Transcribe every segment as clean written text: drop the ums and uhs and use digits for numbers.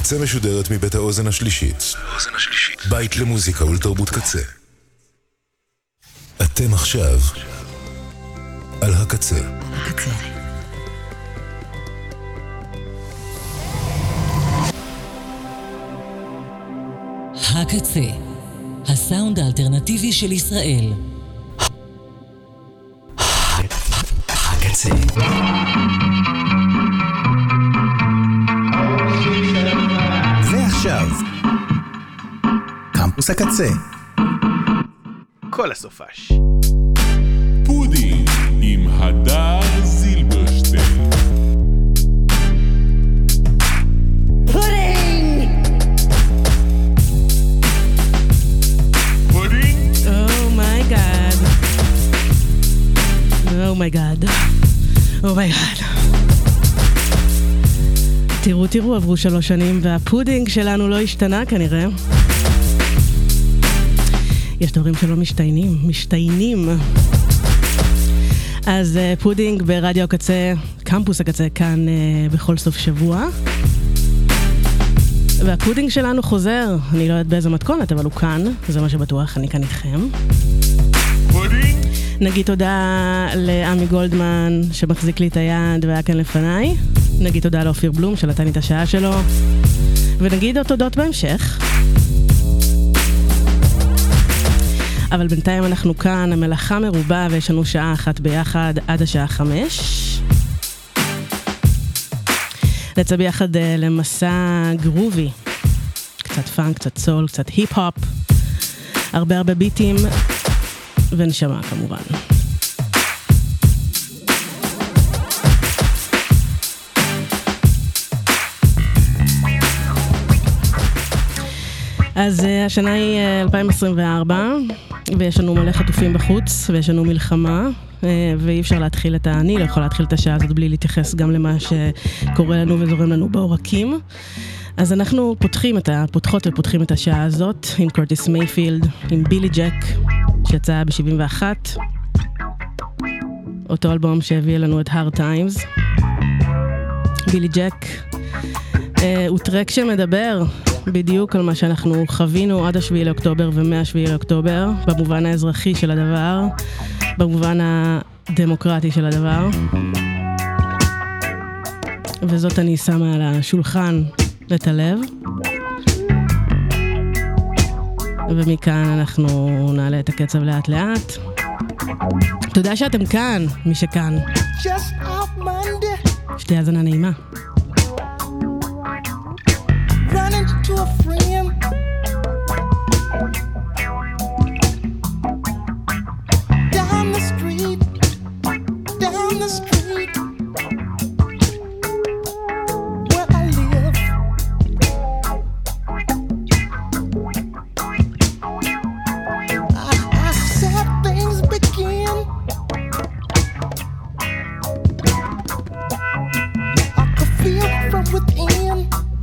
הקצה משודרת מבית האוזן השלישית. בית למוזיקה ולתרבות קצה. אתם עכשיו על הקצה. הקצה, הסאונד האלטרנטיבי של ישראל. הקצה. ועכשיו, קמפוס הקצה. כל הסופש. פודינג עם הדר זילברשטיין. פודינג! פודינג? אומייגאד. אומייגאד. אומייגאד. תראו, עברו 3 שנים והפודינג שלנו לא השתנה כנראה. יש דברים שלא משתיינים. אז פודינג ברדיו הקצה, קמפוס הקצה, כאן בכל סוף שבוע. והפודינג שלנו חוזר, אני לא יודעת באיזה מתכונת, אבל הוא כאן, זה מה שבטוח, אני כאן איתכם. פודינג? נגיד תודה לעמי גולדמן שמחזיק לי את היד והיה כאן לפניי. נגיד תודה לאופיר בלום שנתן לי את השעה שלו. ונגיד עוד תודות בהמשך. אבל בינתיים אנחנו כאן, המלאכה מרובה ויש לנו שעה אחת ביחד עד השעה 5. נצא ביחד למסע גרובי. קצת פאנק, קצת סול, קצת היפ-הופ. הרבה ביטים ונשמה כמובן. אז השנה היא 2024, ויש לנו מלא חטופים בחוץ, ויש לנו מלחמה, ואי אפשר להתחיל אני לא יכול להתחיל את השעה הזאת בלי להתייחס גם למה שקורה לנו וזורם לנו בעורקים. אז אנחנו פותחות ופותחים את השעה הזאת עם קורטיס מייפילד, עם בילי ג'ק, שיצא ב-71, אותו אלבום שהביא לנו את Hard Times. בילי ג'ק הוא טרק שמדבר בדיוק על מה שאנחנו חווינו עד 7 לאוקטובר ו-7 לאוקטובר, במובן האזרחי של הדבר, במובן הדמוקרטי של הדבר. וזאת אני שמה על השולחן את הלב. ומכאן אנחנו נעלה את הקצב לאט לאט. תודה שאתם כאן, מי שכאן. שתהיה האזנה נעימה. Running to a friend, down the street, where I live. I said things begin. I could feel from within.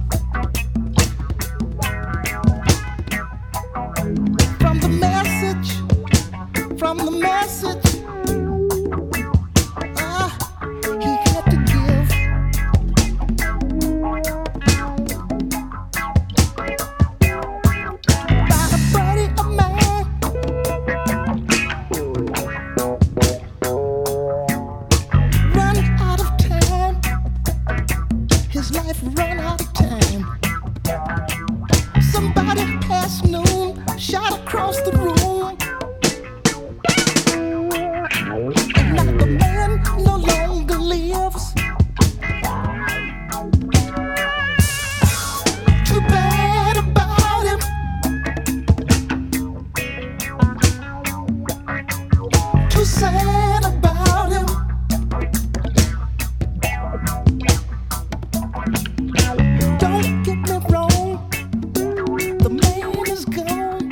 From the message he had to give. By a buddy of mine, run out of time. His life run out of time. Somebody past noon shot across the room. No longer lives. Too bad about him. Too sad about him. Don't get me wrong, the man is gone.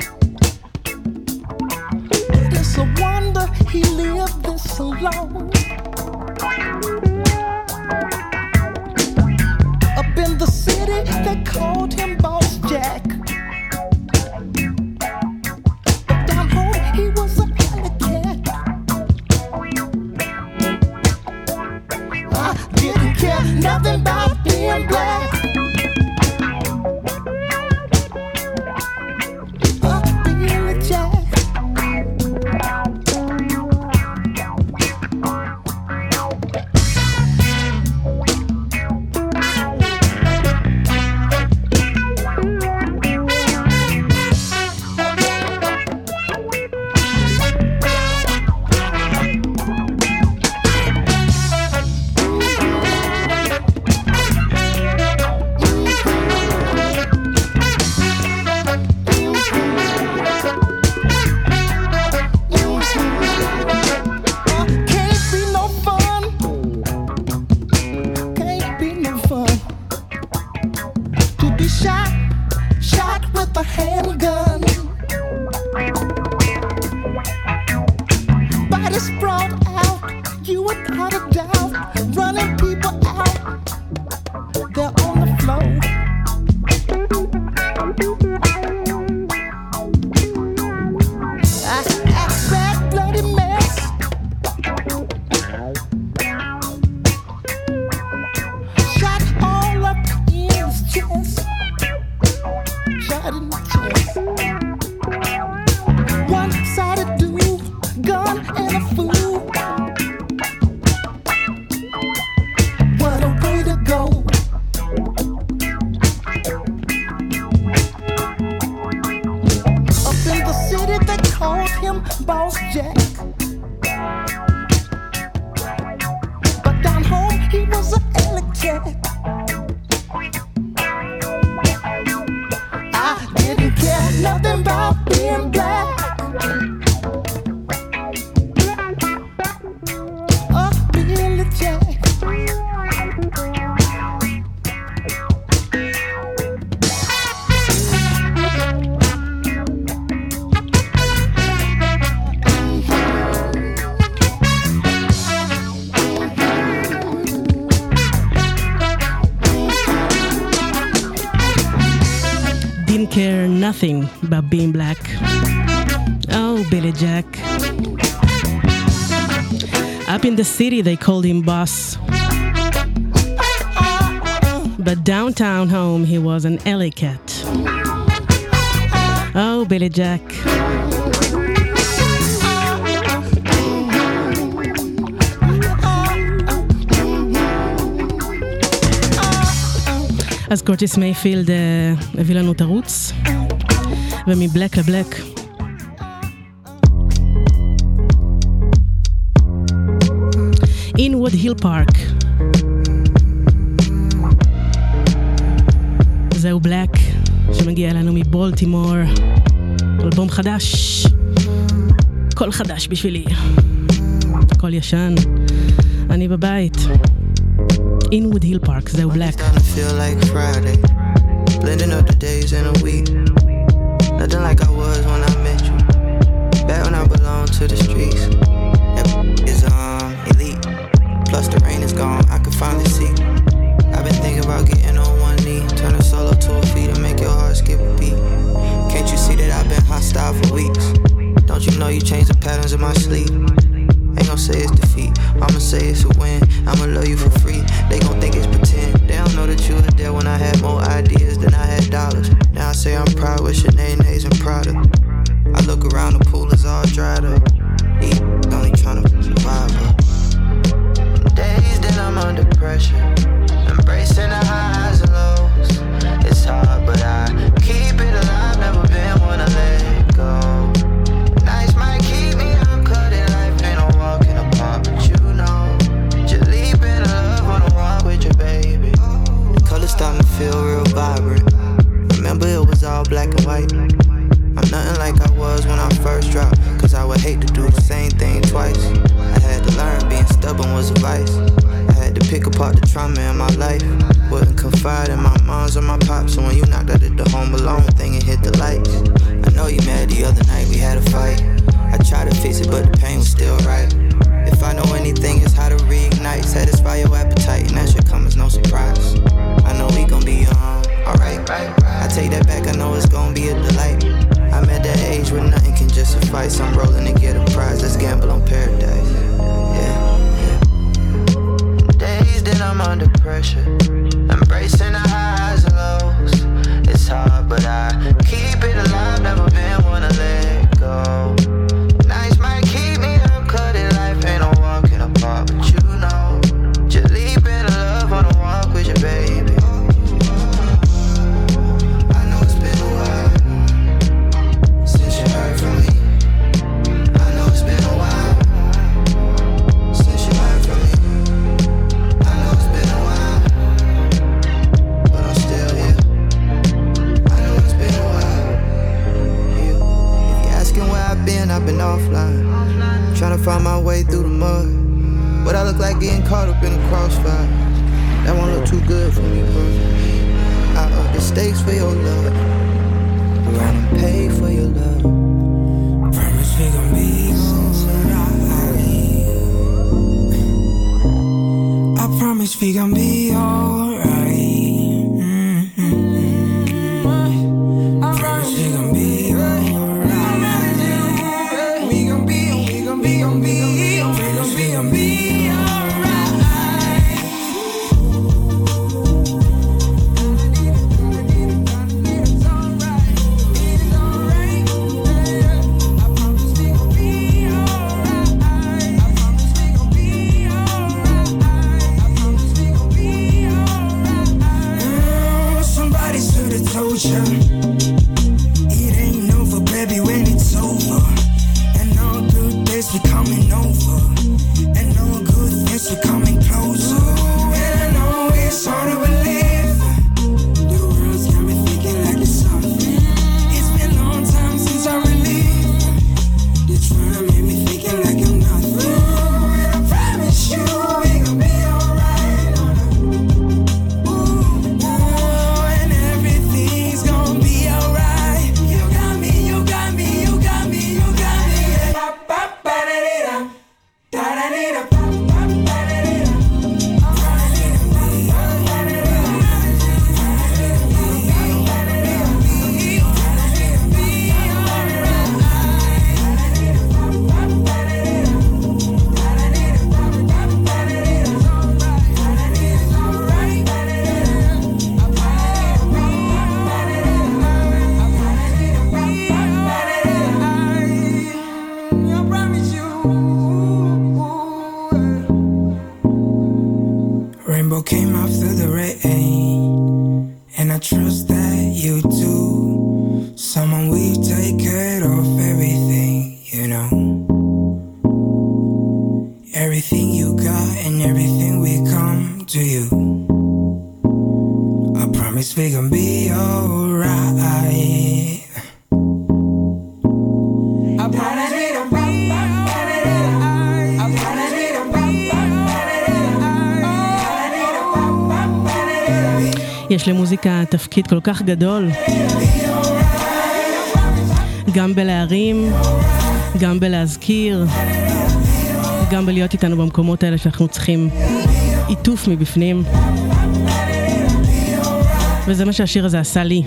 But it's a wonder he lived this long. Up in the city, they called him Boss Jack. But down home, he was a alley cat. I didn't care nothing about being black. check. I didn't care nothing about being black. Oh, Billy Jack. Care nothing about being black. Oh, Billy Jack. Up in the city they called him boss, but downtown home he was an alley cat. Oh, Billy Jack. אז קורטיס מייפילד הביא לנו את ערוץ, ומבלק לבלק. Inwood Hill Park. זהו בלק, שמגיע אלינו מבולטימור. אלבום חדש. קול חדש בשבילי. קול ישן. אני בבית. Inwood Hill Park, זהו בלק. Feel like Friday, blending up the days in a week. Nothing like I was when I met you. Back when I belonged to the streets. That is elite. Plus the rain is gone, I can finally see. I've been thinking about getting on one knee, turn a solo to a feat and make your heart skip a beat. Can't you see that I've been hostile for weeks? Don't you know you changed the patterns of my sleep? Ain't gon' say it's defeat, I'ma say it's a win. I'ma love you for free, they gon' think it's pretend. They don't know that you were there when I had more ideas than I had dollars. Now I say I'm proud with Sinead's and Prada. I look around, the pool is all dried up. Eat, only tryna survive up. Days that I'm under pressure, embracing the highs and lows. It's hard but I keep it alive, never been one to let go. Nights might keep me up, cut it, life ain't no walking apart. But you know, just leaping in love on a walk with your baby. The colors starting to feel real vibrant. Remember it was all black and white. I'm nothing like I was when I first dropped, cause I would hate to do the same thing twice. I had to learn being stubborn was a vice. I had to pick apart the trauma in my life. Wouldn't confide in my moms or my pops, so when you knocked out at the home alone thing and hit the lights. I know you mad the other night, we had a fight. I tried to fix it but the pain was still right. If I know anything, it's how to reignite, satisfy your appetite, and that should come as no surprise. I know we gon' be alright. I take that back, I know it's gon' be a delight. I'm at that age where nothing can just suffice. I'm rolling to get a prize, let's gamble on paradise. Yeah. Days that I'm under pressure, embracing the highs and lows. It's hard but I keep it alive, never been one to let go. Nights might keep me up, cut it, life ain't no walking apart. But you know, just leaping in love on a walk with your baby. I know it's been a while since you heard from me. I know it's been a while since you heard from me. I know it's been a while, but I'm still here. I know it's been a while. Yeah. If you're asking where I've been offline, trying to find my way through the mud. But I look like getting caught up in a crossfire. That won't look too good for me, bro. I up the stakes for your love, run and pay for your love. Promise we gon' be alright. I promise we gon' be alright. I promise we gon' be alright. We gon' be It ain't over, baby, when it's over. And all good days be coming over. And all good things be coming closer. And I know it's rainbow came out through the rain, and I trust that you do. Someone we take care of everything, you know. Everything you got and everything we come to you. I promise we gon' be alright. I promise we gon' be alright. I promise we gon' be alright. יש למוזיקה תפקיד כל כך גדול, גם בלהרים, גם בלהזכיר, גם בלהיות איתנו במקומות האלה שאנחנו צריכים עיטוף מבפנים. וזה מה שהשיר הזה עשה לי.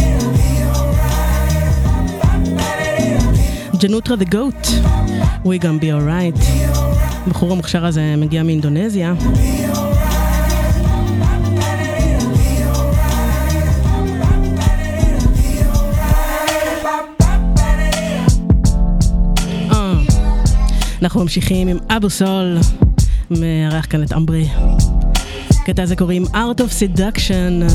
ג'נוטרה the goat, we gonna be alright. בחור המוכשר הזה מגיע מאינדונזיה. אנחנו ממשיכים עם אבו סול, מארח כאן את אמברי. קטע הזה קוראים Art of Seduction.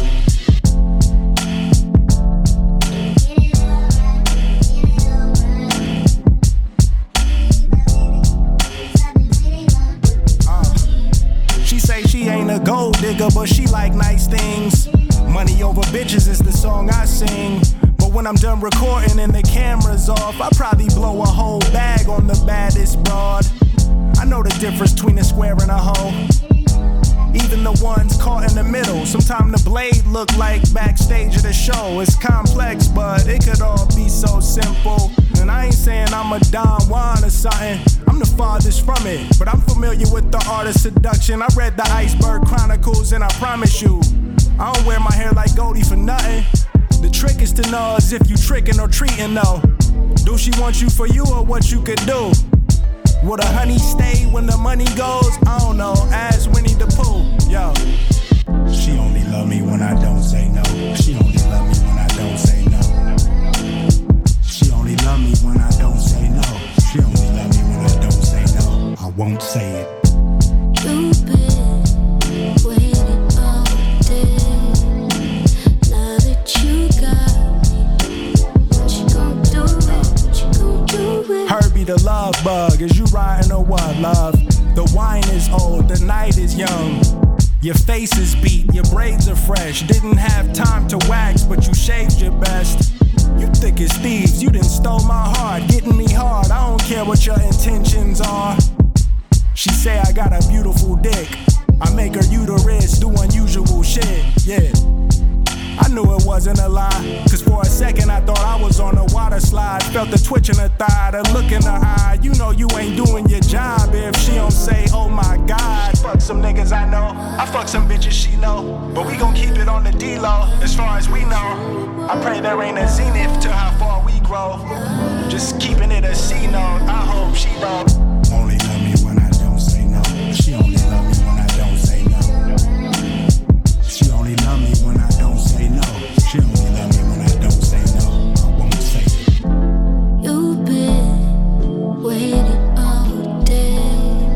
She say she ain't a gold digger, but she like nice things. Money over bitches is the song I sing. When I'm done recording and the camera's off, I probably blow a whole bag on the baddest broad. I know the difference between a square and a hole. Even the ones caught in the middle. Sometimes the blade look like backstage of the show. It's complex, but it could all be so simple. And I ain't saying I'm a Don Juan or something. I'm the farthest from it, but I'm familiar with the art of seduction. I read the Iceberg Chronicles, and I promise you, I don't wear my hair like Goldie for nothing. The trick is to know as if you tricking or treating though. Do she want you for you or what you could do? Would a honey stay when the money goes? I don't know, ask Winnie the Pooh, yo. She only love me when I don't say no. She only love me when I don't say no. She only love me when I don't say no. She only love me when I don't say no. I won't say it. You've been waiting all day. Now that you got me, what you gon' do it? What you gon' do it? Herbie the love bug, is you riding or what, love? The wine is old, the night is young. Your face is beat, your braids are fresh. Didn't have time to wax, but you shaved your best. You thick as thieves, you done stole my heart, getting me hard. I don't care what your intentions are. She say I got a beautiful dick. I make her uterus do unusual shit, yeah. I knew it wasn't a lie, cause for a second I thought I was on a water slide. Felt the twitch in her thigh, the look in her eye. You know you ain't doing your job if she don't say, oh my God. She fuck some niggas I know, I fuck some bitches she know, but we gon' keep it on the D-low, as far as we know. I pray there ain't a zenith to how far we grow. Just keeping it a C-note, I hope she don't. Only love me when I don't say no. She only love me when I don't say no. She only love me when I don't say no. She only love me when I don't say no. I won't say it. You've been waiting all day.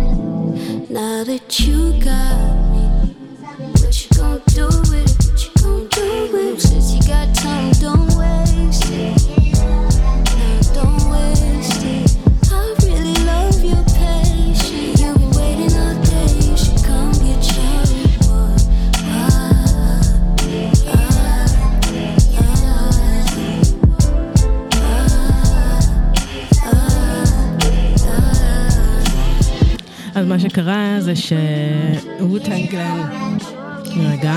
Now that you got me, what you gon' do with it? What you gon' do with it? Since you got time, don't waste it. No, don't waste it. I really love your patience. You've been waiting all day. You should come get your reward. אז מה שקרה זה שוטנג קלן, רגע,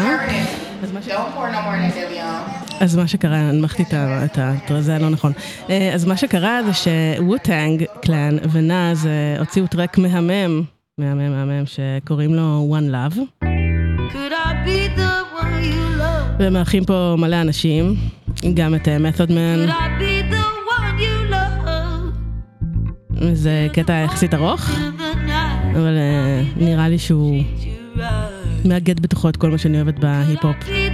אז מה שקרה, הנמכתי את זה לא נכון, אז מה שקרה זה שוטנג קלן ונאז הוציאו טרק מהמם שקוראים לו One Love, והם מארחים פה מלא אנשים, גם את Method Man. זה קטע יחסית ארוך, אבל נראה לי שהוא מאגד בתוכו את כל מה שאני אוהבת בהיפ-הופ.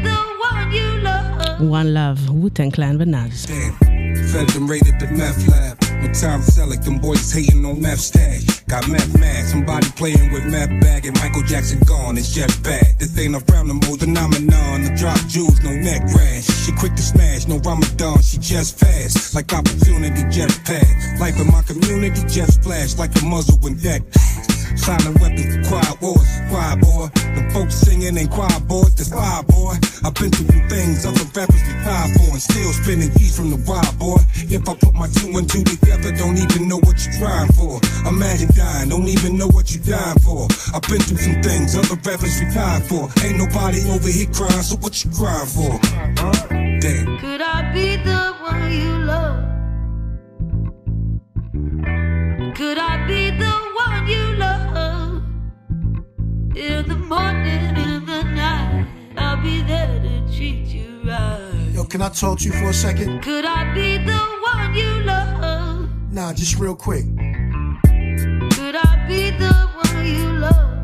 One Love, Wu-Tang Clan ונאז. Fed them raided the meth lab. No time to sell like them boys hating on meth stash. Got meth mad, somebody playing with meth bag and Michael Jackson gone, it's just bad. This ain't a frownable phenomenon. The drop jewels, no neck rash. She quick to smash, no Ramadan, she just fast. Like opportunity, just pass. Life in my community, just flash like a muzzle when deck. Silent weapons for quiet wars, quiet boy. The folks singing ain't quiet boys, that's fire boy. I've been through some things other rappers be tired for, and still spinning keys from the wild boy. If I put my 2 and 2 together, don't even know what you're trying for. Imagine dying, don't even know what you're dying for. I've been through some things other rappers be tired for. Ain't nobody over here crying, so what you crying for? Damn. Could I be the one you love? Could I be the one you love? In the morning, in the night, I'll be there to treat you right. Yo, can I talk to you for a second? Could I be the one you love? Nah, just real quick. Could I be the one you love?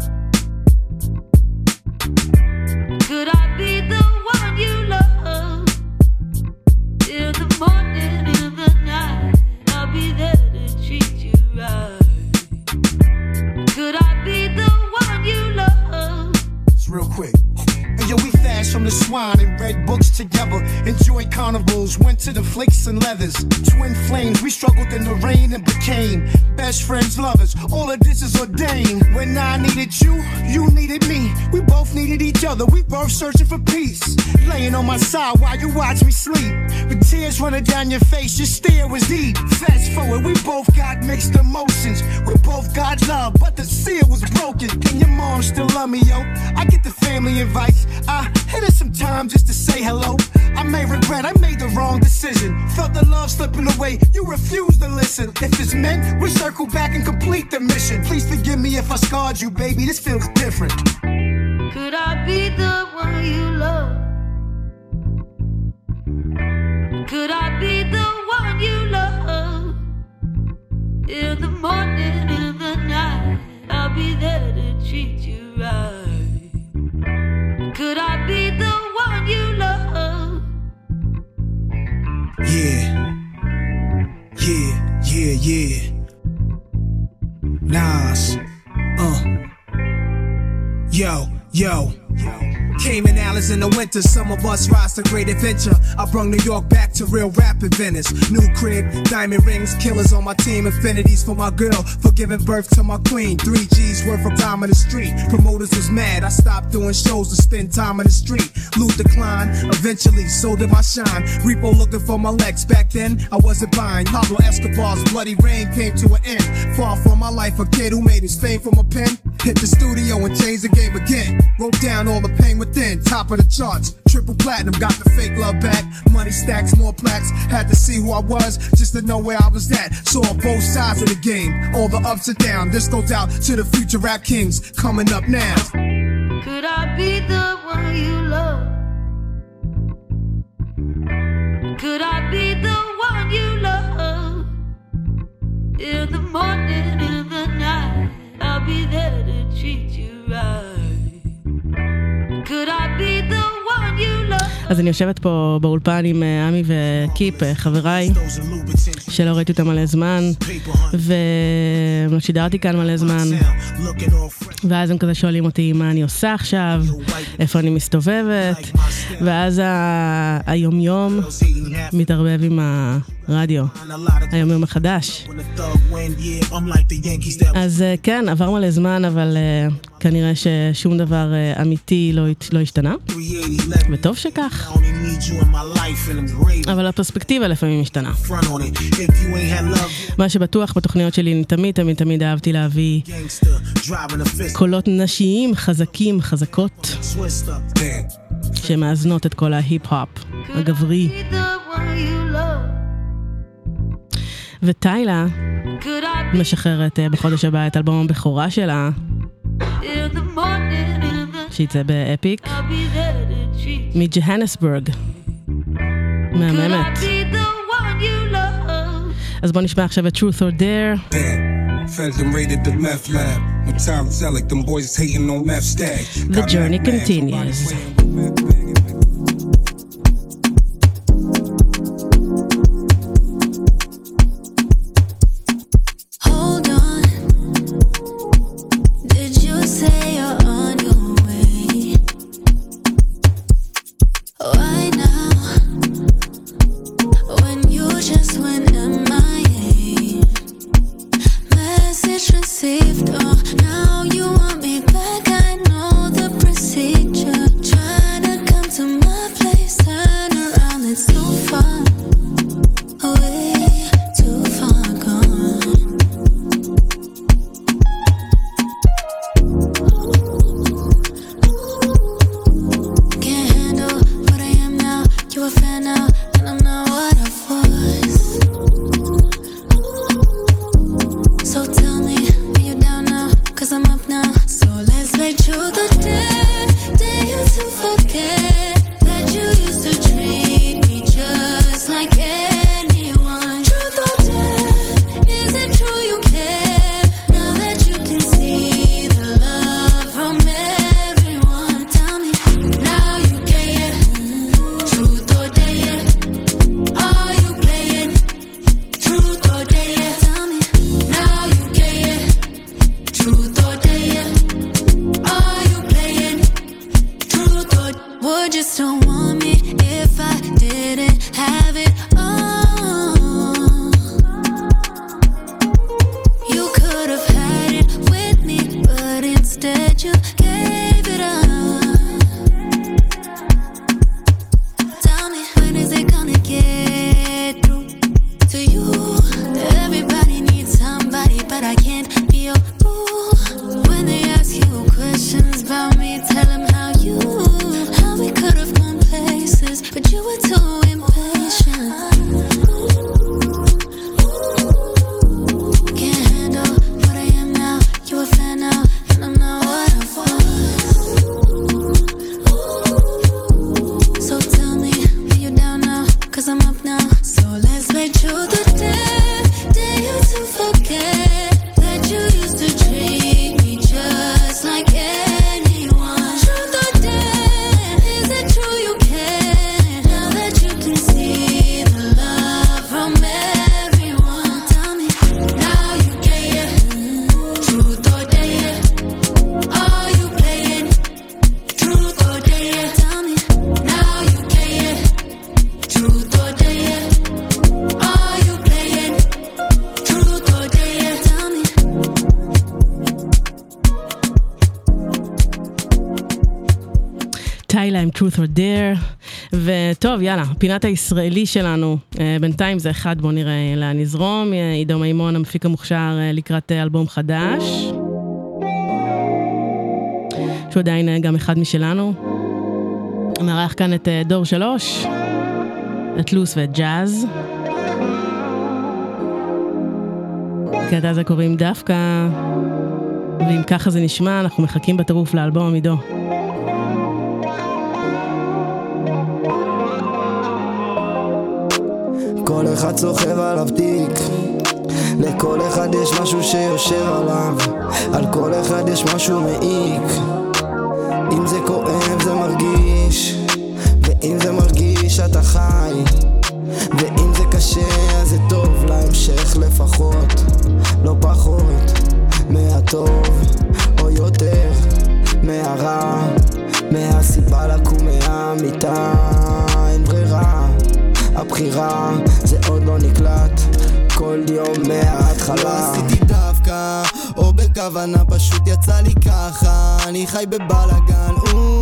Could I be the one you love? In the morning, in the night, I'll be there to treat you right. Could I be the one you love? It's real quick. And yo, we fast from the swine and read books together. Enjoyed carnivals, went to the flakes and leathers. Twin flames, we struggled in the rain and became best friends, lovers. All of this is ordained. When I needed you, you needed me. We both needed each other, we both searching for peace. Laying on my side while you watch me sleep. With tears running down your face, your stare was deep. Fast forward, we both got mixed emotions. We both got love, but the seal was broken. Can your mom still love me, yo? I get the family advice. I hit her some time just to say hello. I may regret I made the wrong decision. Felt the love slipping away, you refused to listen. If it's meant, we circle back and complete the mission. Please forgive me if I scarred you, baby, this feels different. Could I be the one you love? Could I be the one you love? In the morning, in the night, I'll be there to treat you right. Could I be the one you love? Yeah. Nas. Yo. Cayman Islands in the winter, some of us rise to great adventure. I brung New York back to real rap inventors. New crib, diamond rings, killers on my team, infinities for my girl, for giving birth to my queen. 3 G's worth of time in the street. Promoters was mad, I stopped doing shows to spend time in the street. Loot declined, eventually so did my shine. Repo looking for my legs, back then I wasn't buying. Pablo Escobar's Bloody Rain came to an end. Far from my life, a kid who made his fame from a pen. Hit the studio and changed the game again. Wrote down all the pain within, top of the charts. Triple platinum, got the fake love back. Money stacks, more plaques. Had to see who I was, just to know where I was at. Saw both sides of the game, all the ups and downs. This goes out to the future rap kings coming up now. Could I be the one you love? Could I be the one you love? In the morning, in the night, I'll be there to treat you right. Could I be the one you love? אז אני יושבת פה באולפן עם עמי וקיפ, חבריי, שלא ראיתי אותם מלא זמן, ושידרתי כאן מלא זמן, ואז הם כזה שואלים אותי מה אני עושה עכשיו, איפה אני מסתובבת, ואז היומיום מתערבב עם הרדיו, היומיום החדש. אז כן, עבר מלא זמן, אבל כנראה ששום דבר אמיתי לא השתנה, וטוב שכך. אבל הפרספקטיבה לפעמים משתנה. מה שבטוח בתוכניות שלי, אני תמיד אהבתי להביא קולות נשיים חזקים, חזקות, שמאזנות את כל ההיפ-הופ הגברי. וטיילה משחררת בחודש הבא את אלבום הבכורה שלה, שיצא באפיק, מג'הנסבורג. מהממת. אז בוא נשמע עכשיו את Truth or Dare. Feds them raided the meth lab. No time to sell it, them boys is hating on meth stack. The journey continues. Hold on, just don't want me if I didn't have it all. You could have had it with me, but instead you gave it up. Tell me, when is it gonna get through to you? Everybody needs somebody, but I can't be your boo. When they ask you questions about me, tell them how we could have gone places, but you were too impatient. Can't handle what I am now. You a fan now, and I'm not what I was. So tell me, are you down now? 'Cause I'm up now. So let's make sure the day you to forget that you used to treat me just like anyone. Truth or dare, is it true you care? Now that you can see the love from everyone. Tell me, now you care. Truth or dare, are you playing? Truth or dare, tell me, now you care. Truth or dare, are you playing? Truth or dare, tell me. טיילה עם Truth or Dare. וטוב, יאללה, פינת הישראלי שלנו, בינתיים זה אחד, בוא נראה לאן נזרום. עידו מימון, המפיק המוכשר לקראת אלבום חדש, שהוא עדיין גם אחד משלנו. מארח כאן את דור 3, את לוס ואת ג'אז. קטע הזה קוראים דווקא, ואם ככה זה נשמע, אנחנו מחכים בטירוף לאלבום עמידו. כל אחד סוחב עליו תיק, לכל אחד יש משהו שיושב עליו, על כל אחד יש משהו מעיק. אם זה כואב זה מרגיש, ואם זה מרגיש אתה חי, ואם זה קשה אז זה טוב להמשך לפחות, לא פחות מהטוב או יותר מהרע, מהסיבה לקום מהמיטה. אין ברירה, הבחירה זה עוד לא נקלט, כל יום מההתחלה. לא עשיתי דווקא או בכוונה, פשוט יצא לי ככה, אני חי בבלגן.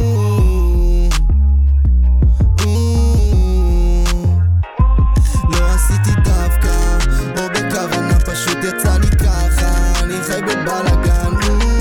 לא עשיתי דווקא או בכוונה, פשוט יצא לי ככה, אני חי בבלגן.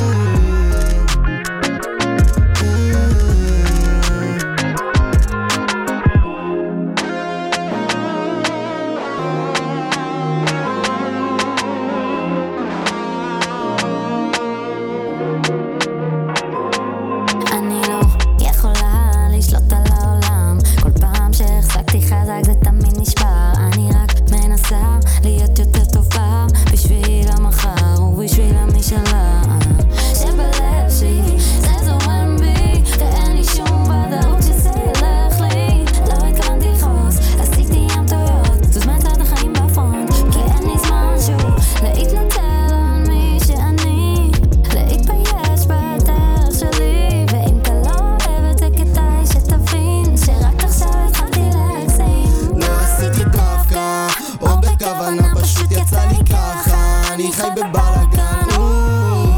להיות יותר טובה בשביל המחר ובשביל המשלה שבלב שלי זה זורם בי ואין לי שום ודאות שזה ילך לי. לא התכוונתי לכעוס, עשיתי ים טעויות, תוזמן צד החיים בפרונט כי אין לי זמן שוב להתנצל על מי שאני, להתבייש בדרך שלי. ואם אתה לא אוהב את זה כדאי שתבין שרק עכשיו התחלתי להגזים. לא עשיתי דווקא או בכוונה, פשוט יצא לי ככה, אני חי בבלגן.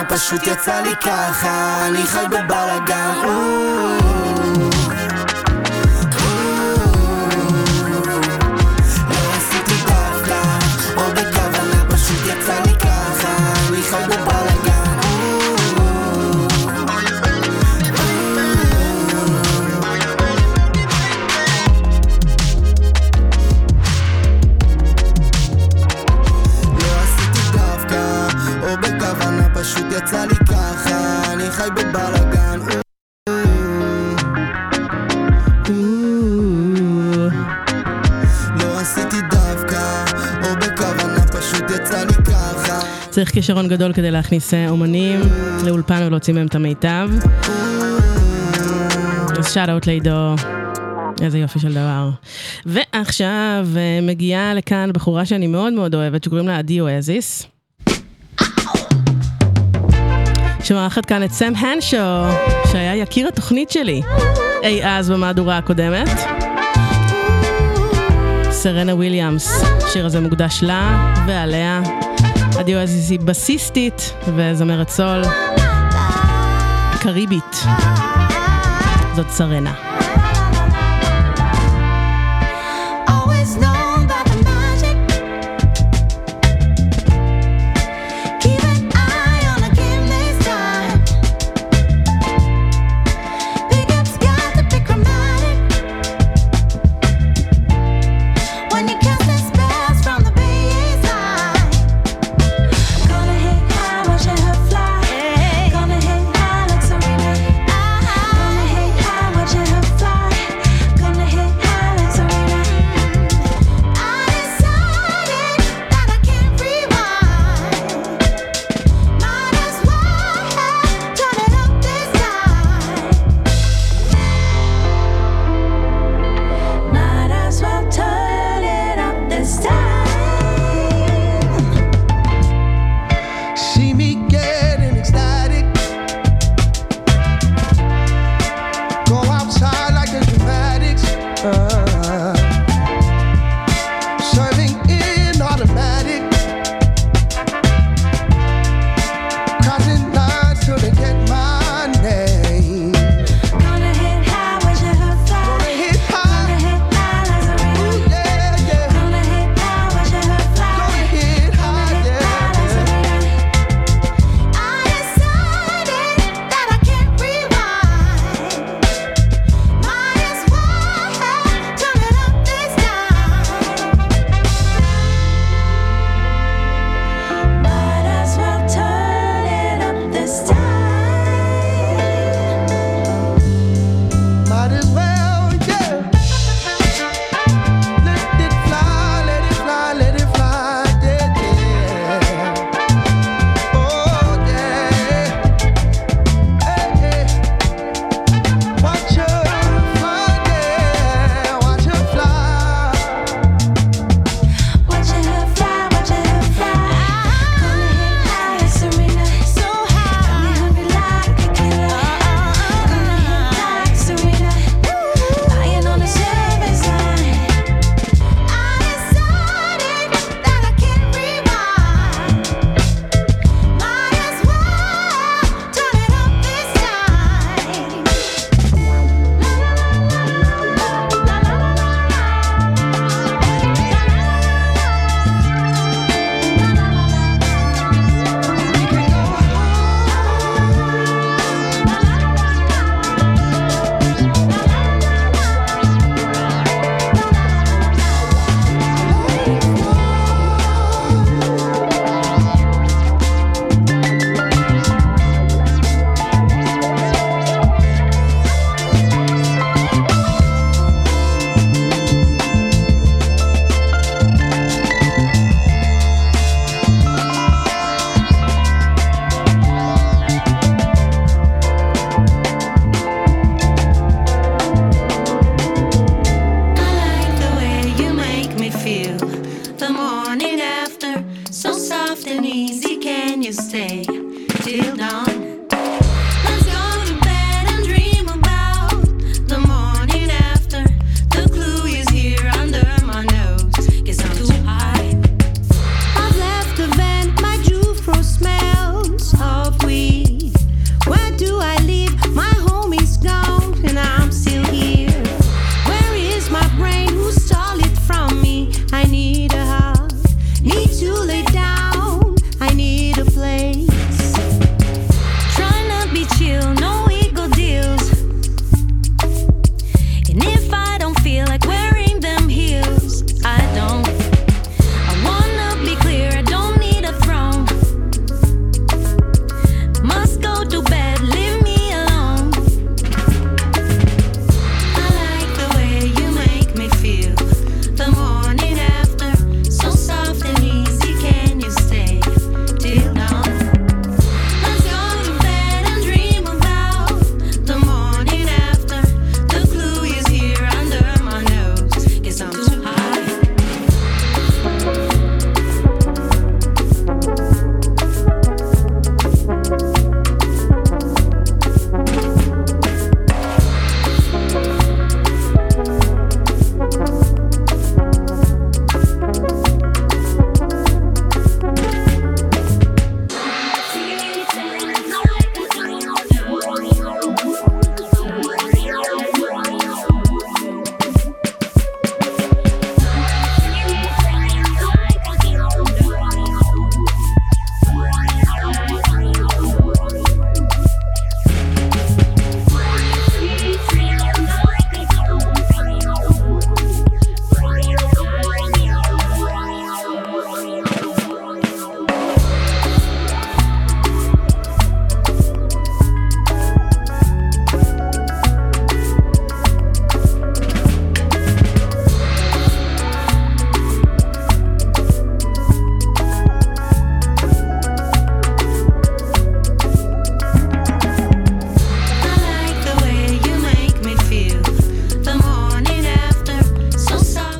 פשוט יצא לי ככה, אני חי בבלגן. לא עשיתי דווקא או בכוונה, פשוט יצא לי ככה, אני חי בבלגן. פשוט יצא לי ככה, אני חי בבלגן. לא עשיתי דווקא או בכוונה, פשוט יצא לי ככה. צריך כישרון גדול כדי להכניס אומנים לאולפן ולהוציא מהם את המיטב. אז שאט-אוט לעידו, איזה יופי של דבר. ועכשיו מגיעה לכאן בחורה שאני מאוד מאוד אוהבת, שקוראים לה עדי אואזיס, שמערכת כאן את סם הנשו, שהיה יקיר התוכנית שלי אי אז במהדורה הקודמת. סרנה וויליאמס, השיר הזה מוקדש לה ועליה. עדי אואזיס היא בסיסטית וזמרת סול קריבית. זאת סרנה. Watch it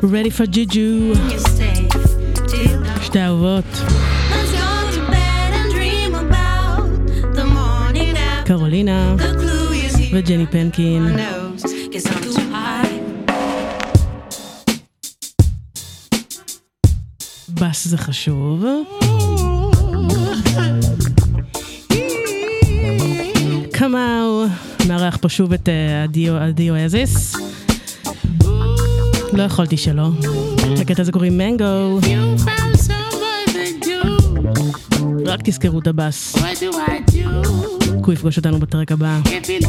Ready for Juju. שתי אהובות. קרולינה וג'ני פנקין. בס זה חשוב. כמאו מארח פה שוב את הדיו אזיס. לא יכולתי שלא. לקטע הזה קוראים מנגו. רק תזכרו את הבס. הוא יפגוש אותנו בטרק הבא.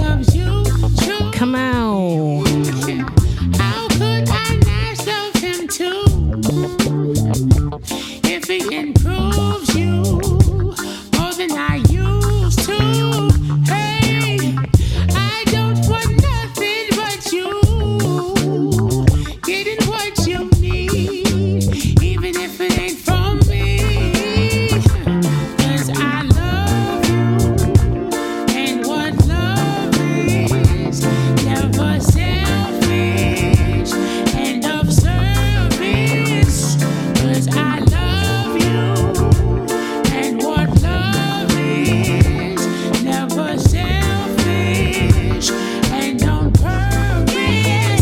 כמאו. If it improves you more than I used to, hey, I don't want nothing but you, getting what you need, even if it ain't from me, 'cause I love you, and what love is, never selfish and of service, 'cause I love you, and what love is, never selfish and on purpose.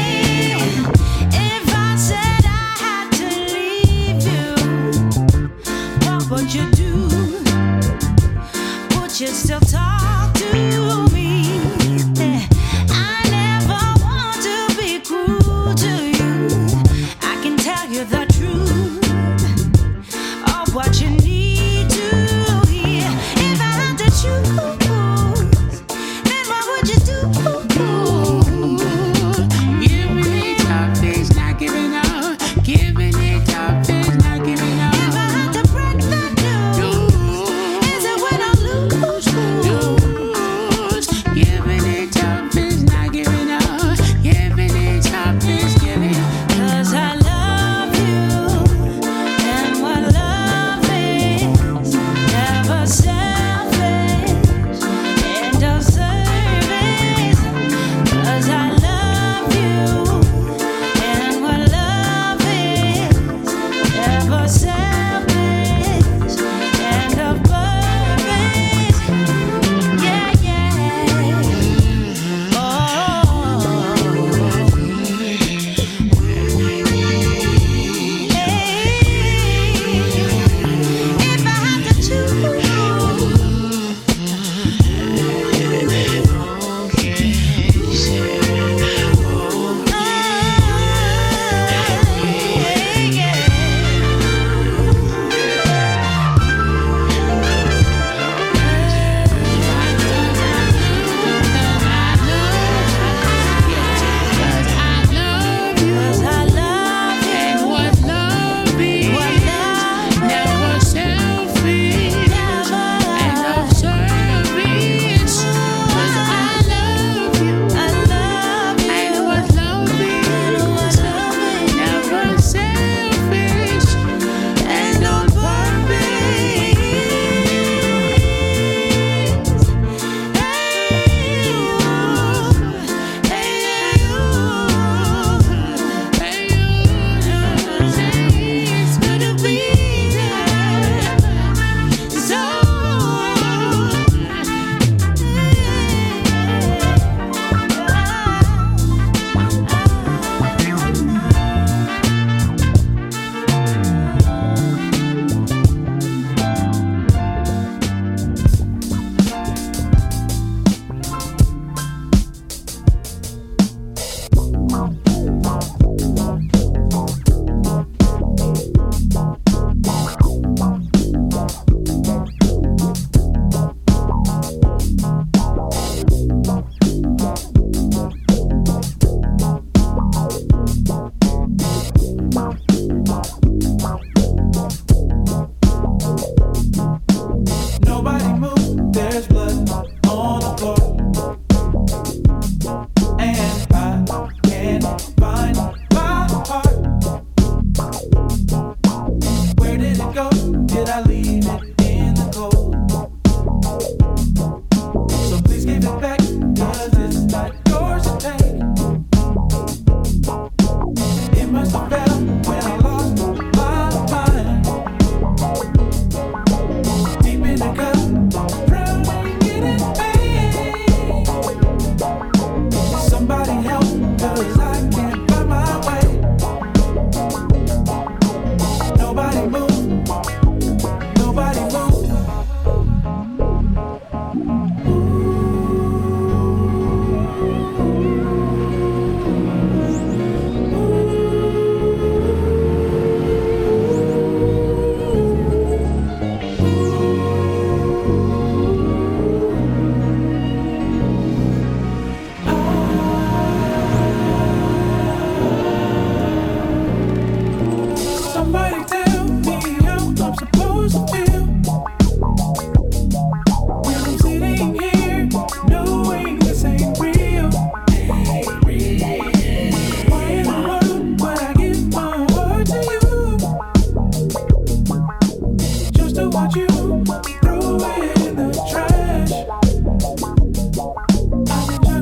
If I said I had to leave you, what would you do? Would you still talk to me? I never want to be cruel to you. I can tell you the truth of what you need to hear. If I had to choose, then what would you do? Giving it up is not giving up. Giving it up is not giving up. If I had to break the news, is it when I lose?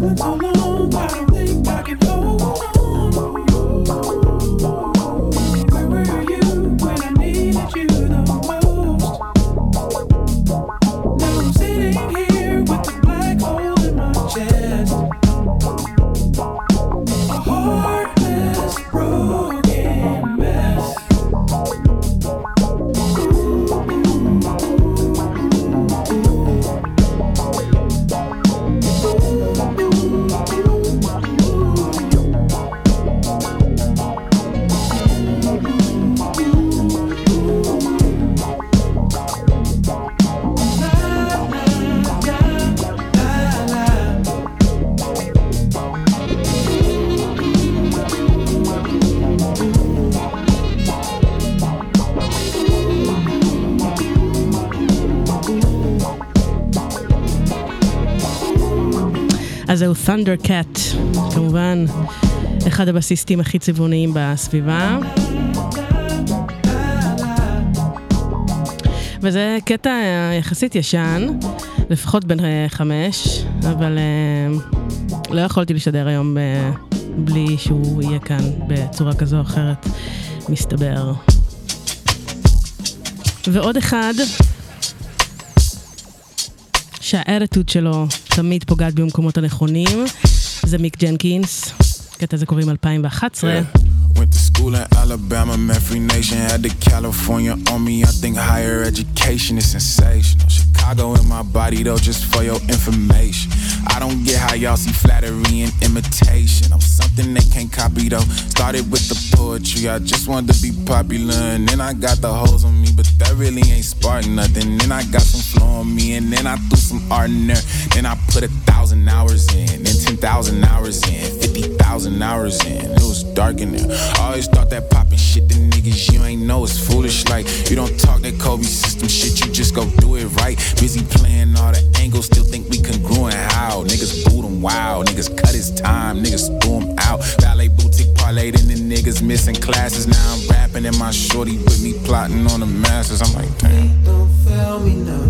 אז זהו Thundercat, כמובן אחד הבסיסטים הכי צבעוניים בסביבה. וזה קטע יחסית ישן, לפחות בין 5, אבל לא יכולתי לשדר היום בלי שהוא יהיה כאן בצורה כזו או אחרת, מסתבר. ועוד אחד שהאטיטוד שלו תמיד פוגעת במקומות הנכונים, זה מיק ג'נקינס. קטע זה קוראים 2011. Went to school in Alabama, met Free Nation, had to California on me. I think higher education is sensational. Chicago in my body though, just for your information. I don't get how y'all see flattery and imitation. I'm something they can't copy though. Started with the poetry, I just wanted to be popular. And then I got the hoes on me, but that really ain't sparking nothing. Then I got some flow on me, and then I threw some art in there. Then I put 1,000 hours in, then 10,000 hours in, 50,000 hours in. It was dark in there. I always thought that poppin' shit, the niggas you ain't know is foolish. Like, you don't talk that Kobe system shit, you just go do it right. Busy playing all the angles, still think we congruent. How? Niggas boot him wild, niggas cut his time, niggas threw him out. Ballet boutique parlayed in the niggas missing classes. Now I'm rapping and my shorty with me plotting on the masters. I'm like, damn. Feet don't fail me now.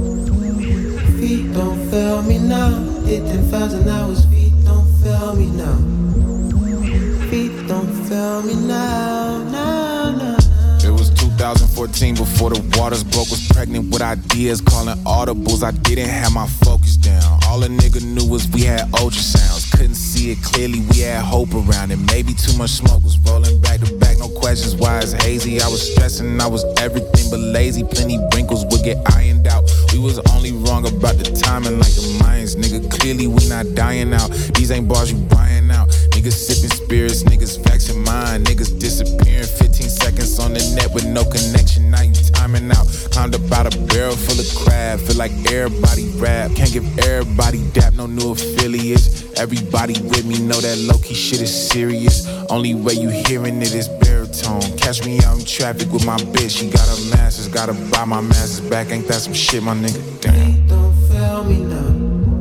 Feet don't fail me now. Hit 10,000 hours, feet don't fail me now. Feet don't fail me now, now, now. It was 2014 before the waters broke. Was pregnant with ideas, calling audibles. I didn't have my focus down. All a nigga knew was we had ultrasounds. Couldn't see it clearly, we had hope around it. Maybe too much smoke was rolling back to back. No questions why it's hazy. I was stressing, I was everything but lazy. Plenty wrinkles would get ironed out. We was only wrong about the timing like the Mayans. Nigga, clearly we not dying out. These ain't bars you buying out. Niggas sipping spirits, niggas faxing mine. Niggas disappearing 15 seconds on the net with no connection. Now you timing out. Climbed up out a barrel full of crab. Feel like everybody rap. Can't give everybody dap, no new affiliates. Everybody with me know that low-key shit is serious. Only way you hearing it is baritone. Catch me out in traffic with my bitch. She got her masters, gotta buy my masters back. Ain't that some shit, my nigga? Damn. Feet don't fail me now.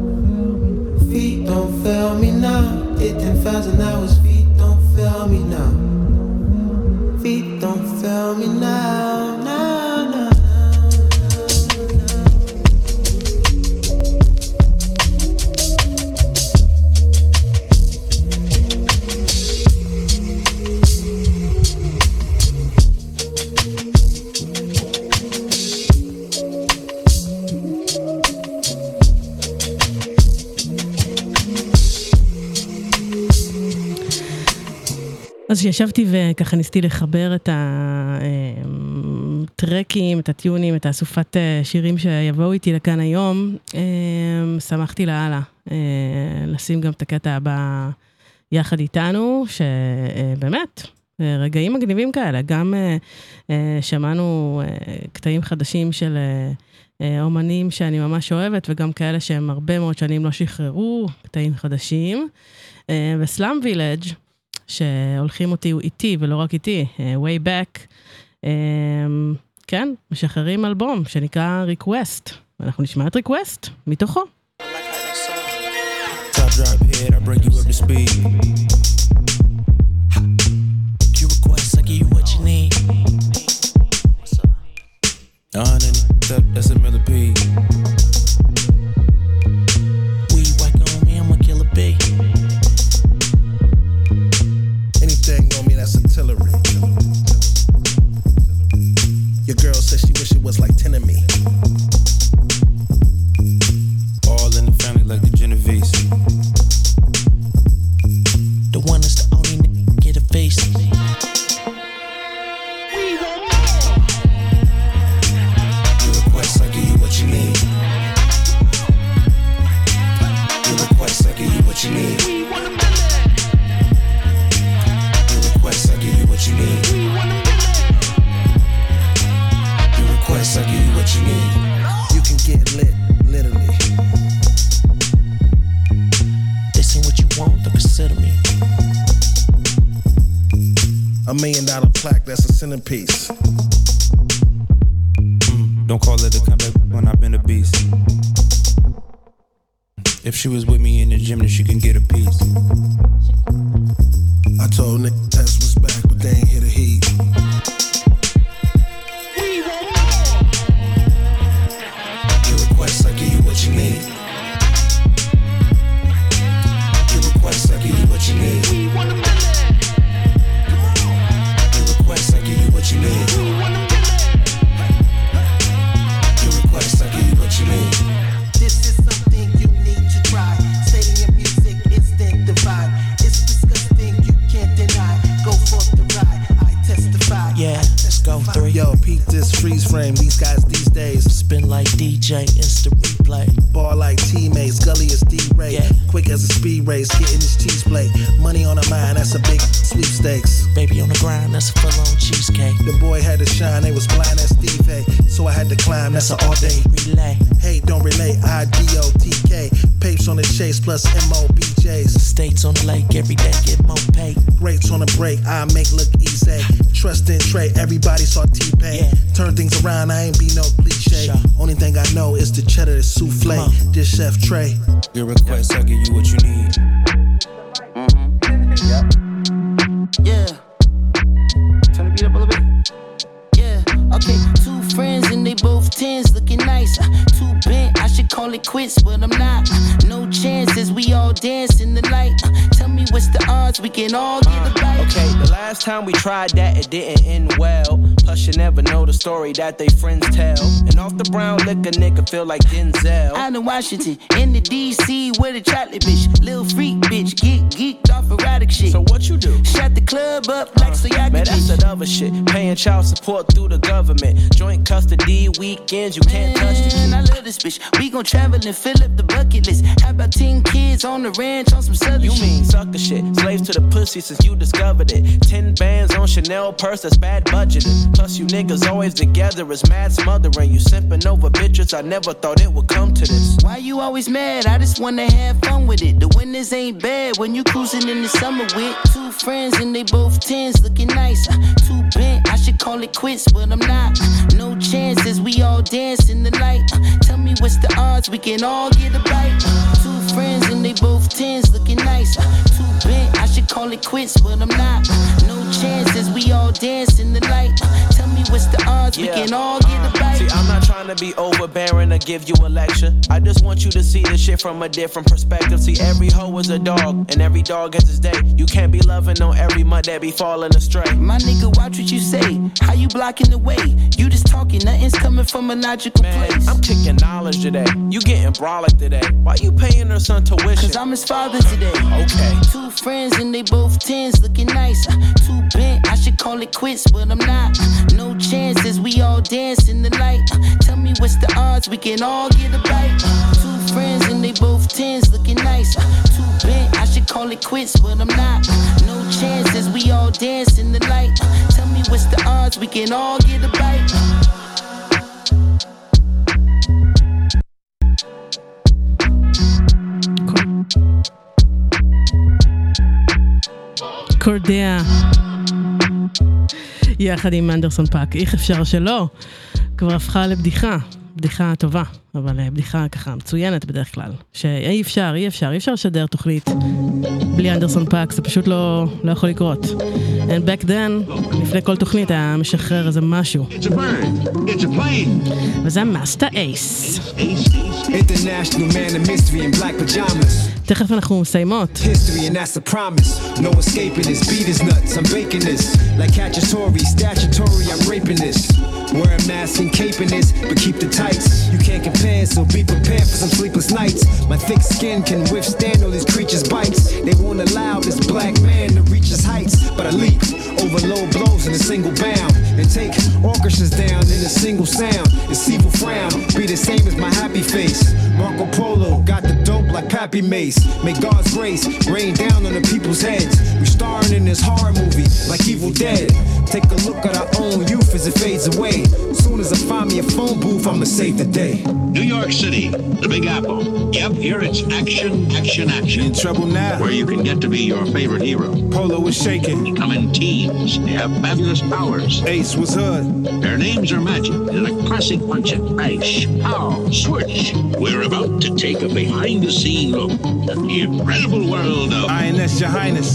Feet don't fail me now. Hit 10,000 hours, feet don't fail me now. Feet don't fail me now, now, now. אז שישבתי וככה ניסיתי לחבר את הטרקים, את הטיונים, את האסופת שירים שיבואו איתי לכאן היום, שמחתי להלאה לשים גם את הקטע הבא יחד איתנו, שבאמת רגעים מגניבים כאלה, גם שמענו קטעים חדשים של אומנים שאני ממש אוהבת, וגם כאלה שהם הרבה מאוד שנים לא שחררו קטעים חדשים, וסלאם וילג' שהולכים אותי איתי, ולא רק איתי, way back, כן, משחררים אלבום שנקרא Request, ואנחנו נשמע את Request מתוכו. Top drop head, I bring you up to speed. You request, I give you what you need. That's a millipede. Weed whack on me, I'ma kill a bee. $1 million plaque, that's a centerpiece. Don't call it a comeback when I've been a beast. If she was with me in the gym, then she can get a piece. I told Nick that's what's back, but they ain't hit a heat. Your request, I give you what you need. Your request, I give you what you need. Your request, I give you what you need. Your request, I give you what you need. This is something you need to try. Stating your music, instant divide. It's disgusting, you can't deny. Go for the ride, I testify. Yeah, let's go 3. Yo, peep this freeze frame. These guys these days spin like DJ, instant replay. Ball like teammates, gully is D-Ray. Yeah. Quick as a speed race, getting this cheese plate. Money on the mind, that's a big sweepstakes. Baby on the grind, that's a full-on cheesecake. The boy had to shine, they was blind as Steve A. So I had to climb, that's an all-day relay. Hey, don't relate, I-D-O-T-K. Papes on the chase, plus M-O-B-Js. States on the lake, every day get more pay. Rates on the break, I make look easy. Trust in Trey, everybody saw T-Pain. Yeah. Turn things around, I ain't be no cliche. Sure. Only thing I know is the cheddar, the souffle. This Chef Trey. Your request, I'll give you what you need. Yeah. Turn the beat up a little bit. Yeah. Okay, 2 friends and they both 10s looking nice. Too bent, I should call it quits, but I'm not. No chances, we all dance in the light. Tell me what's the odds, we can all get a bite. Okay, the last time we tried that, it didn't end well. Plus you never know the story that they friends tell. And off the brown liquor, nigga feel like Denzel. Out in Washington, in the DC with a chocolate bitch. Lil freak bitch, get geeked off erotic shit. So what you do? Shut the club up like so y'all man, that's that other shit. Paying child support through the government. Joint custody weekends, you can't touch the kid. I love this bitch. We gon' travel and fill up the bucket list. How about 10 kids on the ranch on some southern you shit? You mean sucker shit. Slaves to the pussy since you discovered it. 10 bands on Chanel purse, that's bad budgeting. Plus you niggas always together is mad smothering. You simping over bitches, I never thought it would come to this. Why you always mad? I just wanna have fun with it. The winters ain't bad when you cruising in the summer with 2 friends and they both 10s looking nice. Too bent, I should call it quits, but I'm not. No chances, we all dance in the light. Tell me what's the odds, we can all get a bite. 2 friends and they both 10s looking nice. Too bent, I should call it quits, but I'm not. No chances, we all dance in the light. Tell me what's the odds, we can all get a bite. See, I'm not trying to be overbearing or give you a lecture. I just want you to see this shit from a different perspective. See, every hoe is a dog, and every dog has his day. You can't be loving on every mud that be falling astray. My nigga, watch what you say. How you blocking the way? You just talking, nothing's coming from a logical place. I'm kicking knowledge today. You getting brolic today. Why you paying her son tuition? Cause I'm his father today. Okay. 2 friends and they both 10s looking nice. Too bent, I should call it quits, but I'm not. No chances, we all dance in the light. Tell me what's the odds, we can all get a bite. 2 friends and they both 10s looking nice. Too bent, I should call it quits, but I'm not. No chances, we all dance in the light. Tell me what's the odds, we can all get a bite. קורדיה יחד עם אנדרסון פאק, איך אפשר שלא? כבר הפכה לבדיחה, בדיחה טובה, אבל בדיחה ככה מצוינת בדרך כלל, שאי אפשר לשדר תוכנית בלי אנדרסון פאק, זה פשוט לא יכול לקרות. And back then, לפני כל תוכנית היה משחרר איזה משהו. וזה מאסטר אייס. International man of mystery in black pajamas. תכף אנחנו מסיימות. History and that's a promise. No escaping this. Beat is nuts. I'm baking this. Like Cacciatore, statutory. I'm raping this. Wear a mask and caping this, but keep the tights. You can't compare, so be prepared for some sleepless nights. My thick skin can withstand all these creatures' bites. They won't allow this black man to reach his heights, but I leap over low blows in a single bound and take orchestras down in a single sound. This evil frown be the same as my happy face. Marco Polo got the dope like Pappy happy mace. May God's grace rain down on the people's heads. We starring in this horror movie like Evil Dead. Take a look at our own youth as it fades away. Soon as I find me a phone booth, I'ma save the day. New York City, the Big Apple. Yep, here it's action, action, action. In trouble now. Where you can get to be your favorite hero. Polo was shaking. They come in teams. They have fabulous powers. Ace was hood. Their names are magic. They're a classic bunch of Ace, pow, switch. We're about to take a behind-the-scene look at the incredible world of INS, Your Highness.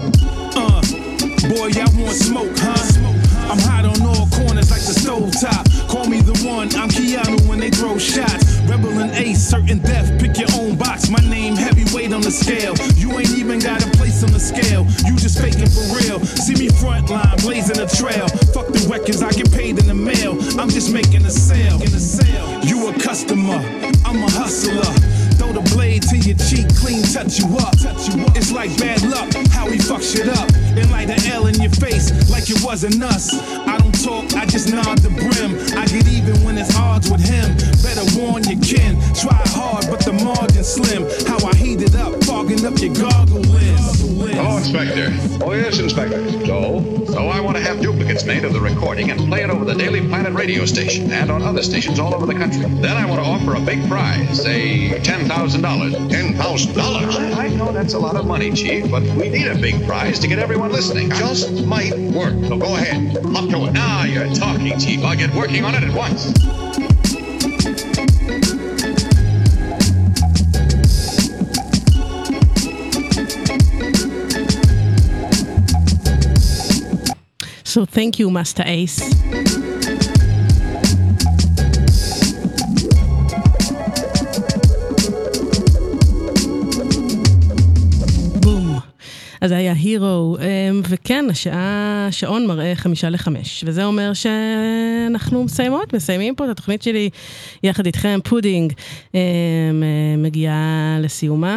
Boy, y'all want smoke, huh? I'm hot on all corners like the stove top. Call me the one, I'm Keanu when they throw shots. Rebel and Ace, certain death, pick your own box. My name heavyweight on the scale. You ain't even got a place on the scale. You just faking for real. See me front line, blazing a trail. Fuck the records, I get paid in the mail. I'm just making a sale. You a customer, I'm a hustler. Throw the blade to your cheek, clean, touch you up. It's like bad luck, how we fuck shit up. And light an L in your face, like it wasn't us. I don't talk, I just nod the brim. I get even when it's odds with him. Better warn your kin, try hard, but the margin's slim. How I heat it up, fogging up your goggle lens. Hello, Inspector. Oh, yes, Inspector. So I want to have duplicates made of the recording and play it over the Daily Planet radio station and on other stations all over the country. Then I want to offer a big prize, say $10,000. $10,000? I know that's a lot of money, Chief, but we need a big prize to get everyone listening. Just might work. So go ahead. Up to it. Now you're talking, Chief. I'll get working on it at once. So thank you, Master Ace. בום. אז זה היה הירו, וכן, השעון מראה 4:55, וזה אומר שאנחנו מסיימים פה את התוכנית שלי יחד איתכם. פודינג מגיעה לסיומה.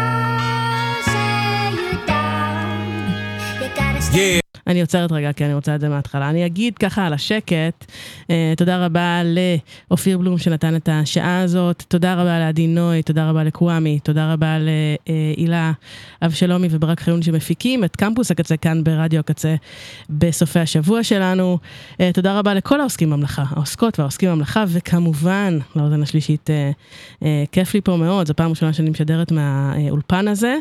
אני עוצרת רגע, כי אני רוצה את זה מההתחלה. אני אגיד ככה על השקט, תודה רבה לאופיר בלום שנתן את השעה הזאת, תודה רבה לעדי נוי, תודה רבה לקוואמי, תודה רבה להילה אבשלומי וברק חיון שמפיקים את קמפוס הקצה כאן ברדיו הקצה בסופי השבוע שלנו. תודה רבה לכל העוסקים במלאכה, העוסקות והעוסקים במלאכה, וכמובן, לאוזן השלישית, כיף לי פה מאוד, זו פעם ראשונה שאני משדרת מהאולפן הזה.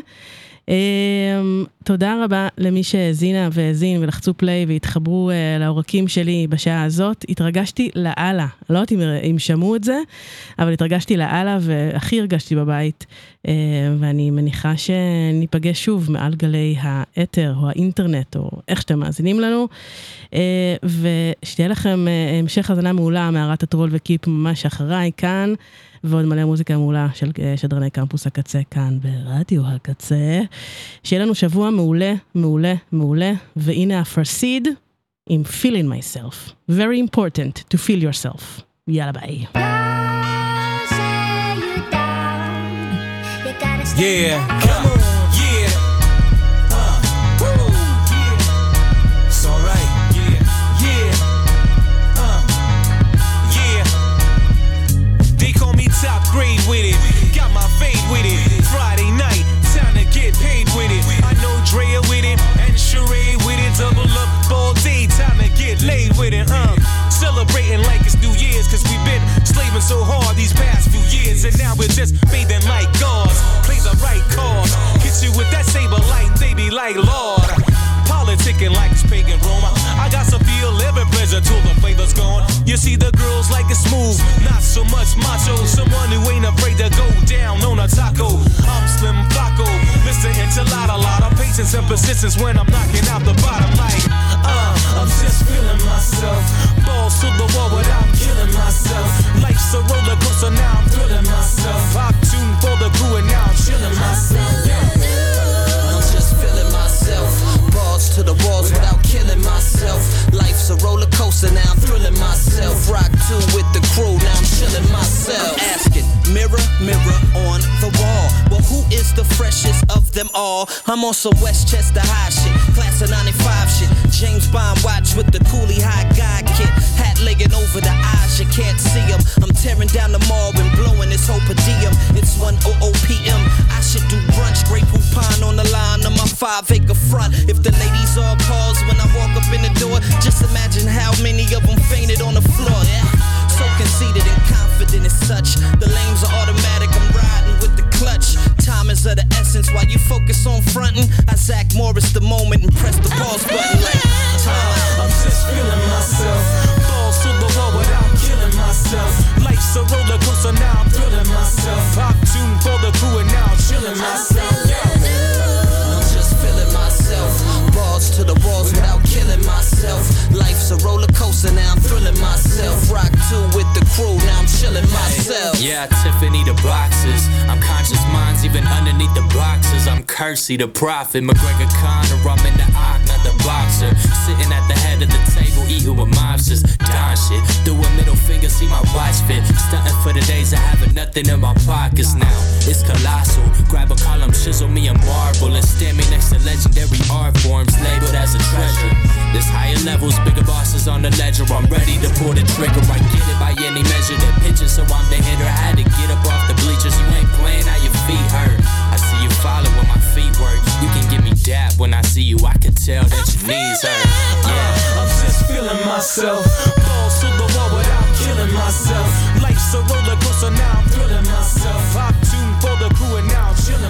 תודה רבה למי שהזינה והזין ולחצו פליי והתחברו לעורקים שלי בשעה הזאת. התרגשתי לאללה, לא יודעת אם שמעו את זה, אבל התרגשתי לאללה והכי הרגשתי בבית, ואני מניחה שניפגש שוב מעל גלי האתר או האינטרנט או איך שאתם מאזינים לנו, ושתהיה לכם המשך הזנה מעולה מערת הטרול וקיפ ממש אחריי כאן, ועוד מלא מוזיקה מעולה של שדרני קמפוס הקצה כאן ברדיו הקצה. שיהיה לנו שבוע מעולה, מעולה, מעולה, והנה הפרסיד עם feeling myself. Very important to feel yourself. יאללה ביי. Yeah, come on, yeah. It's alright, yeah, yeah. They call me top grade with it, got my fade with it. Friday night, time to get paid with it. I know Drea with it, and Sheree with it. Double up all day, time to get laid with it, Celebrating like it's New Year's, cause we've been slaving so hard these past few years, and now we're just bathing like gods. Play the right cards, hit you with that saber light, they be like, Lord. Politicking like it's pagan Roma. I got some feel every pleasure till the flavor's gone. You see the girls like it's smooth, not so much macho. Someone who ain't afraid to go down on a taco. I'm Slim Flacco, Mr. Enchilada. Lot of patience and persistence when I'm knocking out the bottom like, I'm just feeling myself. Balls to the wall without killing myself. Life's a roller coaster, now I'm thrilling myself. Pop tune for the crew and now I'm chilling myself. I'm just feeling myself. Balls to the walls without killing myself. Life's a roller coaster, now I'm thrilling myself. Rock 2 with the crew, now I'm chilling myself. I'm asking, mirror, mirror on the wall, well, who is the freshest of them all? I'm on some Westchester High shit, class of 95 shit. James Bond watch with the coolie high guy kit. Hat legging over the eyes, you can't see them. I'm tearing down the mall and blowing this whole per diem. It's 1:00 p.m. I 5-acre front. If the ladies all pause when I walk up in the door, just imagine how many of them fainted on the floor. Yeah. So conceited and confident as such. The lames are automatic, I'm riding with the clutch. Time is of the essence while you focus on fronting. I Zach Morris the moment and press the pause button like time. I'm just feeling myself. Balls to the wall without killing myself. Life's a roller coaster, now I'm thrilling myself. Pop tune for the crew and now I'm chilling myself. I'm just feeling myself. Balls to the walls without killing myself. Life's a roller coaster, now I'm thrilling myself. Rock 2 with the crew, now I'm chilling myself. Yeah, Tiffany the boxes. I'm conscious minds even underneath the boxes. I'm Kersey the prophet, McGregor Connor, I'm in the Ock, not the boxer. Sitting at the head of the table, eating with mobsters. Don shit, through a middle finger, see my watch fit. Stunting for the days of having nothing in my pockets now. It's colossal. Grab a column, chisel me a marble, and stand me next to legendary art forms labeled as a treasure. There's higher levels, bigger bosses on the ledger. I'm ready to pull the trigger. I get it by any measure. The pitcher, so I'm the hitter. I had to get up off the bleachers. You ain't playing how your feet hurt. I see you follow when my feet work. You can give me dap when I see you. I can tell that your knees hurt. Yeah, I'm just feeling myself. Balls to the wall without killing myself. Life's a roller coaster, now I'm thrilling myself. Pop tune for the crew and now I'm chilling